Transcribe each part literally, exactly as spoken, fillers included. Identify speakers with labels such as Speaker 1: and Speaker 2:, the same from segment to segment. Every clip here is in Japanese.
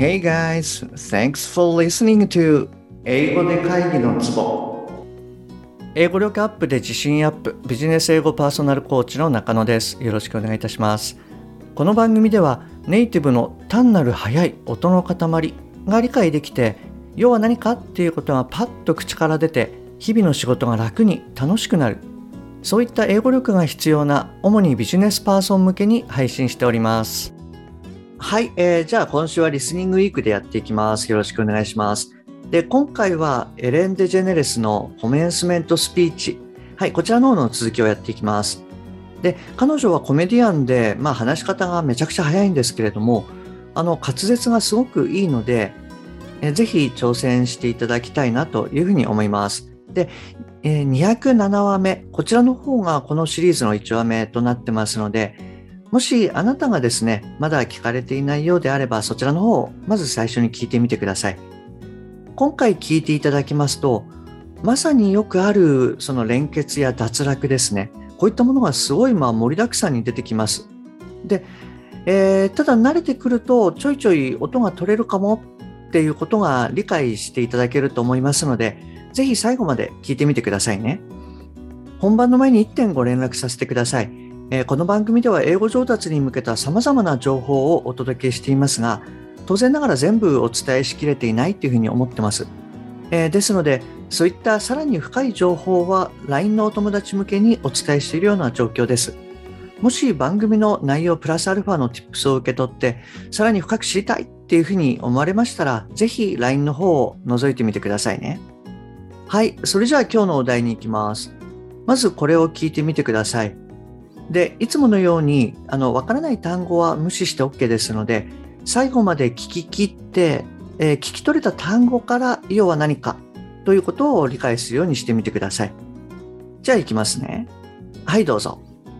Speaker 1: Hey guys, thanks for listening to 英語で会議のツボ。英語力アップで自信アップ、ビジネス英語パーソナルコーチの中野です。よろしくお願いいたします。この番組ではネイティブの単なる速い音の塊が理解できて、要は何かっていうことがパッと口から出て、日々の仕事が楽に楽しくなる。そういった英語力が必要な主にビジネスパーソン向けに配信しております。はい、えー、じゃあ今週はリスニングウィークでやっていきます。よろしくお願いします。で、今回はエレン・デジェネレスのコメンスメントスピーチ。はい、こちらの方の続きをやっていきます。で、彼女はコメディアンで、まあ話し方がめちゃくちゃ早いんですけれども、あの滑舌がすごくいいので、えぜひ挑戦していただきたいなというふうに思います。で、えー、にひゃくななわめ、こちらの方がこのシリーズのいちわめとなってますので、もしあなたがですね、まだ聞かれていないようであれば、そちらの方をまず最初に聞いてみてください。今回聞いていただきますと、まさによくあるその連結や脱落ですね。こういったものがすごいまあ盛りだくさんに出てきます。で、えー、ただ慣れてくるとちょいちょい音が取れるかもっていうことが理解していただけると思いますので、ぜひ最後まで聞いてみてくださいね。本番の前にいってんご連絡させてください。えー、この番組では英語上達に向けた様々な情報をお届けしていますが、当然ながら全部お伝えしきれていないというふうに思ってます。えー、ですので、そういったさらに深い情報は ライン のお友達向けにお伝えしているような状況です。もし番組の内容プラスアルファの Tips を受け取って、さらに深く知りたいっていうふうに思われましたら、ぜひ ライン の方を覗いてみてくださいね。はい、それじゃあ今日のお題に行きます。まずこれを聞いてみてください。で、いつものように、あの、わからない単語は無視して OK ですので、最後まで聞き切って、えー、聞き取れた単語から要は何かということを理解するようにしてみてください。じゃあ行きますね。はい、どうぞ。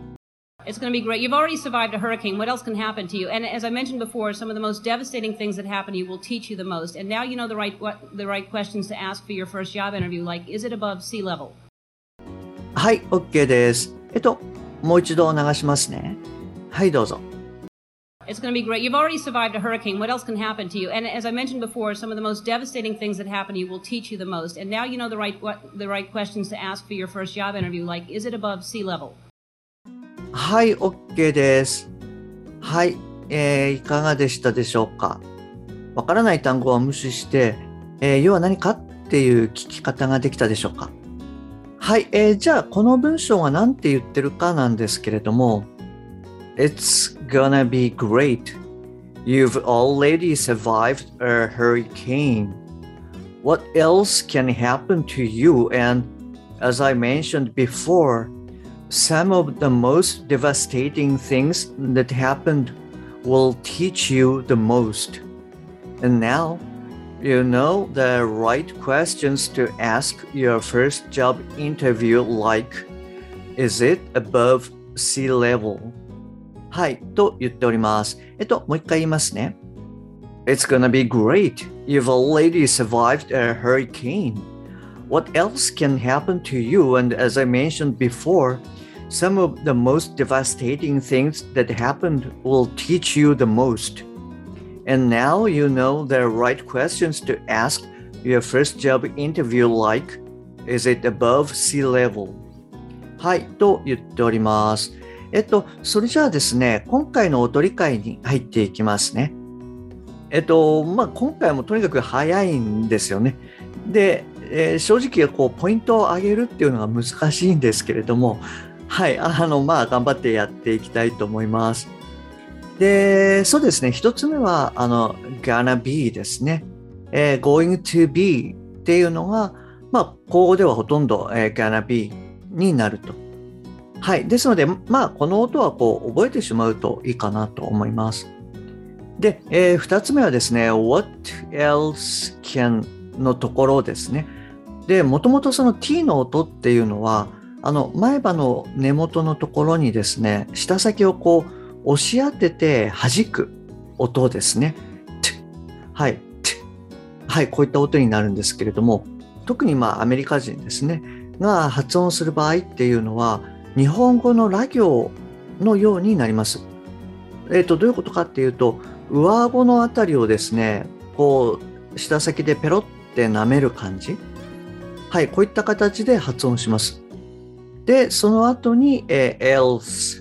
Speaker 2: It's going to be great. You've already survived a hurricane. What else can happen to you? And as I mentioned before, some of the most devastating things that happen to you will teach you the most. And now you know the right what, the right questions to ask for your first job interview, like, is it above sea level?
Speaker 1: はい、OK です。えっと、もう一度流しますね。はい、どうぞ。
Speaker 2: It's going to be great. You've already survived a hurricane. What else can happen to you? And as I mentioned before, some of the most devastating things that happen to you will teach you the most. And now you know the right what, the right questions to ask for your first job interview, like, is it above sea level?
Speaker 1: はい、OK です。はい、えー、いかがでしたでしょうか。わからない単語は無視して、えー、要は何かっていう聞き方ができたでしょうか。はい、えー、じゃあこの文章が何て言ってるかなんですけれども、It's gonna be great. You've already survived a hurricane. What else can happen to you? And as I mentioned before, some of the most devastating things that happened will teach you the most. And now, you know the right questions to ask your first job interview, like, is it above sea level? はい、と言っております。えっと、もう一回言いますね。It's gonna be great. You've already survived a hurricane. What else can happen to you? And as I mentioned before, some of the most devastating things that happened will teach you the most. And now you know the right questions to ask your first job interview, like, is it above sea level? はい、と言っております。えっと、それじゃあですね、今回の音理解に入っていきますね。えっと、まあ、今回もとにかく早いんですよね。で、えー、正直こうポイントを上げるっていうのが難しいんですけれども、はい、あの、まあ、頑張ってやっていきたいと思います。で、そうですね、一つ目は、あの、gonna be ですね。えー、going to be っていうのが、まあ、口語ではほとんど、えー、gonna be になると。はい。ですので、まあ、この音はこう、覚えてしまうといいかなと思います。で、えー、二つ目はですね、what else can のところですね。で、もともとその t の音っていうのは、あの、前歯の根元のところにですね、舌先をこう、押し当てて弾く音ですね。はい。はい。こういった音になるんですけれども、特にまあ、アメリカ人ですね、が発音する場合っていうのは、日本語のラ行のようになります。えっと、どういうことかっていうと、 上顎のあたりをですね、こう、舌先でペロって舐める感じ。はい、こういった形で発音します。で、その後に、えー、else,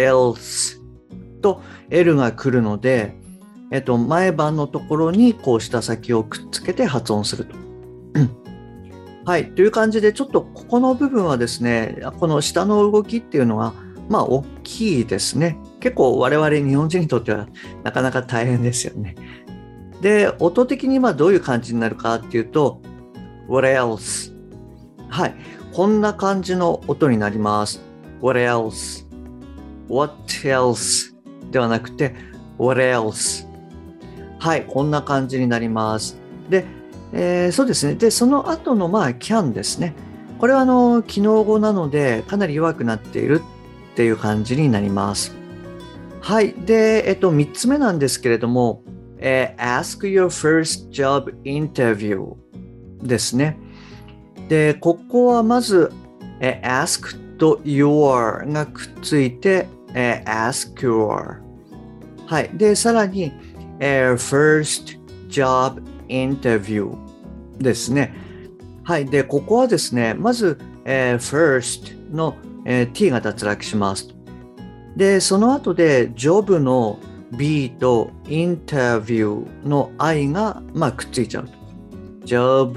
Speaker 1: else と L が来るので、えっと、前歯のところにこう舌先をくっつけて発音すると。はい。という感じで、ちょっとここの部分はですね、この舌の動きっていうのが、まあ、大きいですね。結構我々日本人にとってはなかなか大変ですよね。で、音的にまあどういう感じになるかっていうと、what else? はい。こんな感じの音になります。what else? what else? ではなくて、what else? はい。こんな感じになります。で、えー、そうですね。で、その後の、まあ、can ですね。これは、あの、機能語なので、かなり弱くなっているっていう感じになります。はい。で、えっと、三つ目なんですけれども、えー、ask your first job interview ですね。で、ここはまず、えー、ask と your がくっついて、えー、ask your。はい。で、さらに、えー、first job interview ですね。はい。で、ここはですね、まず、えー、first の、えー、t が脱落します。で、その後で、job の b と interview の i が、まあ、くっついちゃう。job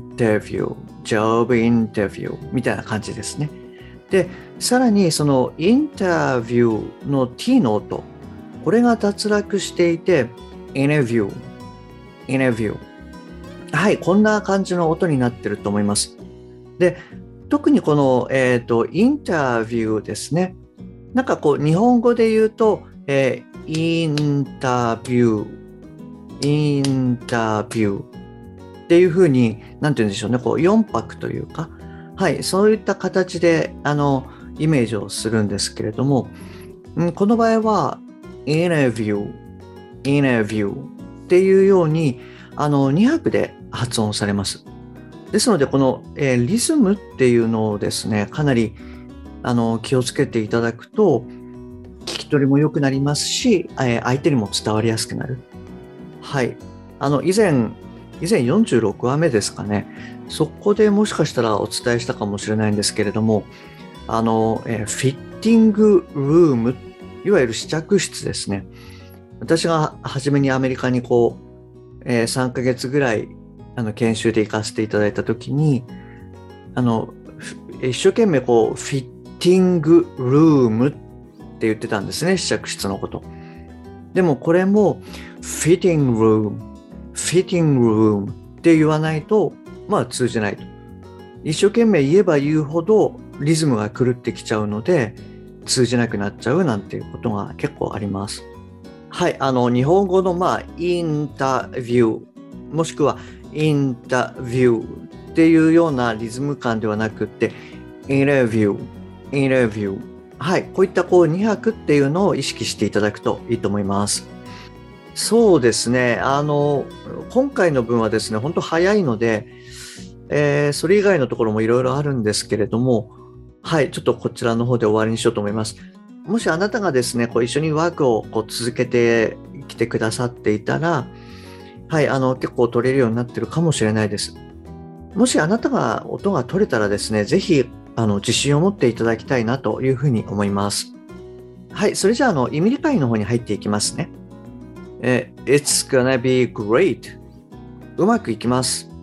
Speaker 1: interview、job interview みたいな感じですね。で、さらにその interview の t の音、これが脱落していて、interview、interview。はい、こんな感じの音になってると思います。で、特にこの、えっと、インタビューですね。なんかこう、日本語で言うと、えー、インタビュー、インタビューっていうふうに、なんて言うんでしょうね、こう、よん拍というか、はい、そういった形で、あの、イメージをするんですけれども、うん、この場合は、インタビュー、インタビューっていうように、あの、に拍で発音されます。ですので、この、えー、リズムっていうのをですね、かなりあの気をつけていただくと、聞き取りも良くなりますし、えー、相手にも伝わりやすくなる。はい。あの、以前、以前よんじゅうろくわめですかね。そこでもしかしたらお伝えしたかもしれないんですけれども、あの、えー、フィッティングルーム、いわゆる試着室ですね。私が初めにアメリカにこう、えー、さんかげつぐらいあの研修で行かせていただいたときに、あの一生懸命こうフィッティングルームって言ってたんですね、試着室のこと。でもこれもフィッティングルーム、フィッティングルームって言わないと、まあ通じないと。一生懸命言えば言うほどリズムが狂ってきちゃうので、通じなくなっちゃうなんていうことが結構あります。はい、あの日本語のまあインタビュー、もしくはインタビューっていうようなリズム感ではなくって、インタビュー、インタビュー。はい、こういったこうに拍っていうのを意識していただくといいと思います。そうですね、あの、今回の分はですね、本当早いので、えー、それ以外のところもいろいろあるんですけれども、はい、ちょっとこちらの方で終わりにしようと思います。もしあなたがですね、こう一緒にワークをこう続けてきてくださっていたら、はい、あの、結構取れるようになってるかもしれないです。もしあなたが音が取れたらですね、ぜひ、あの、自信を持っていただきたいなというふうに思います。はい、それじゃあ、あの、意味理解の方に入っていきますね。え、It's gonna be great. うまくいきます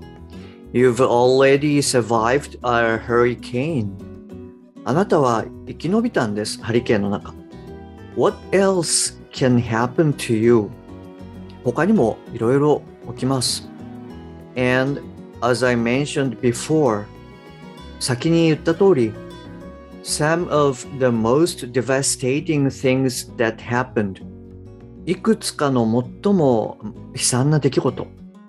Speaker 1: 。You've already survived a hurricane. あなたは生き延びたんです、ハリケーンの中。What else can happen to you? 他にもいろいろ起きます。And as I mentioned before, 先に言った通り、some of the most devastating things that happened, いくつかの最も悲惨な出来事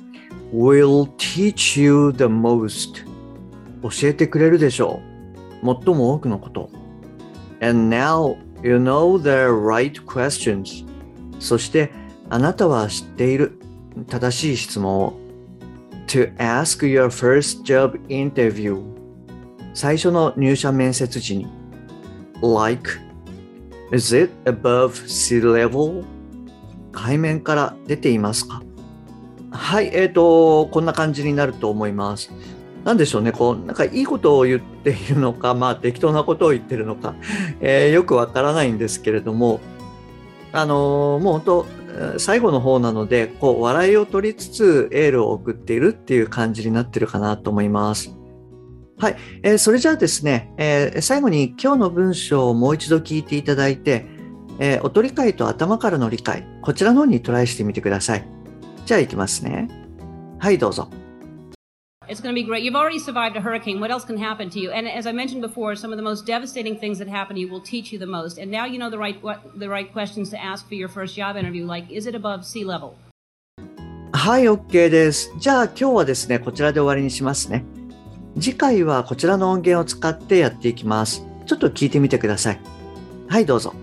Speaker 1: will teach you the most, 教えてくれるでしょう。最も多くのこと。And now you know the right questions. そしてあなたは知っている正しい質問を to ask your first job interview. 最初の入社面接時に like, is it above sea level? 背面から出ていますか？はい、えーと、こんな感じになると思います。なんでしょうね、こう、なんかいいことを言っているのか、まあ適当なことを言ってるのか、えーよくわからないんですけれども、あのーもう本当、えー最後の方なので、こう、笑いを取りつつエールを送っているっていう感じになってるかなと思います。はい、えーそれじゃあですね、えー最後に今日の文章をもう一度聞いていただいて、えー音理解と頭からの理解、こちらの方にトライしてみてください。じゃあ行きますね。はい、どうぞ。
Speaker 2: It's going to be great. You've already survived a hurricane. What else can happen to you? And as I mentioned before, some of the most devastating things that happen to you will teach you the most. And now you know the right what, the right questions to ask for your first job interview, like, is it above sea level?
Speaker 1: はい、OK です。じゃあ今日はですね、こちらで終わりにしますね。次回はこちらの音源を使ってやっていきます。ちょっと聞いてみてください。はい、どうぞ。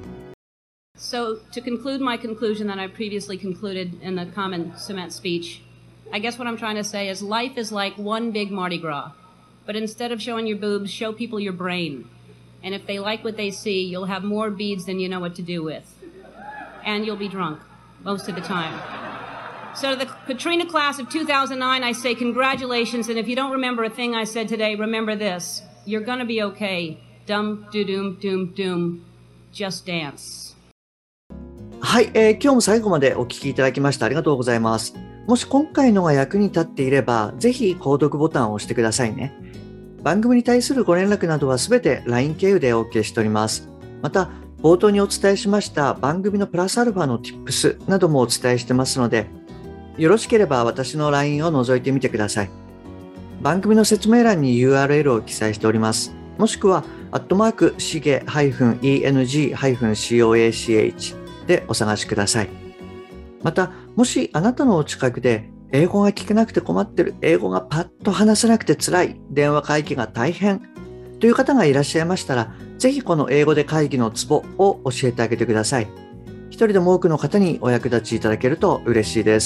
Speaker 2: So, to conclude my conclusion that I previously concluded in the common cement speech, I guess what I'm trying to say is life is like one big Mardi Gras. But instead of showing your boobs, show people your brain. And if they like what they see, you'll have more beads than you know what to do with. And you'll be drunk most of the time. So to the Katrina class of two thousand nine, I say congratulations. And if you don't remember a thing I said today, remember this. You're gonna be okay. Dum, doo, doom, doom, doom. Just dance.
Speaker 1: はい、えー今日も最後までお聞きいただきましてありがとうございます。もし今回のが役に立っていれば、ぜひ購読ボタンを押してくださいね。番組に対するご連絡などはすべて ライン 経由で OK しております。また、冒頭にお伝えしました番組のプラスアルファの Tips などもお伝えしてますので、よろしければ私の ライン を覗いてみてください。番組の説明欄に ユーアールエル を記載しております。もしくは、アットマーク、しげ -エヌジー コー でお探しください。また、もしあなたのお近くで英語が聞けなくて困ってる、英語がパッと話せなくて辛い、電話会議が大変という方がいらっしゃいましたら、ぜひこの英語で会議のツボを教えてあげてください。一人でも多くの方にお役立ちいただけると嬉しいです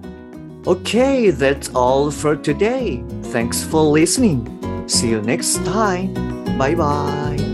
Speaker 1: 。Okay, that's all for today. Thanks for listening. See you next time. Bye bye.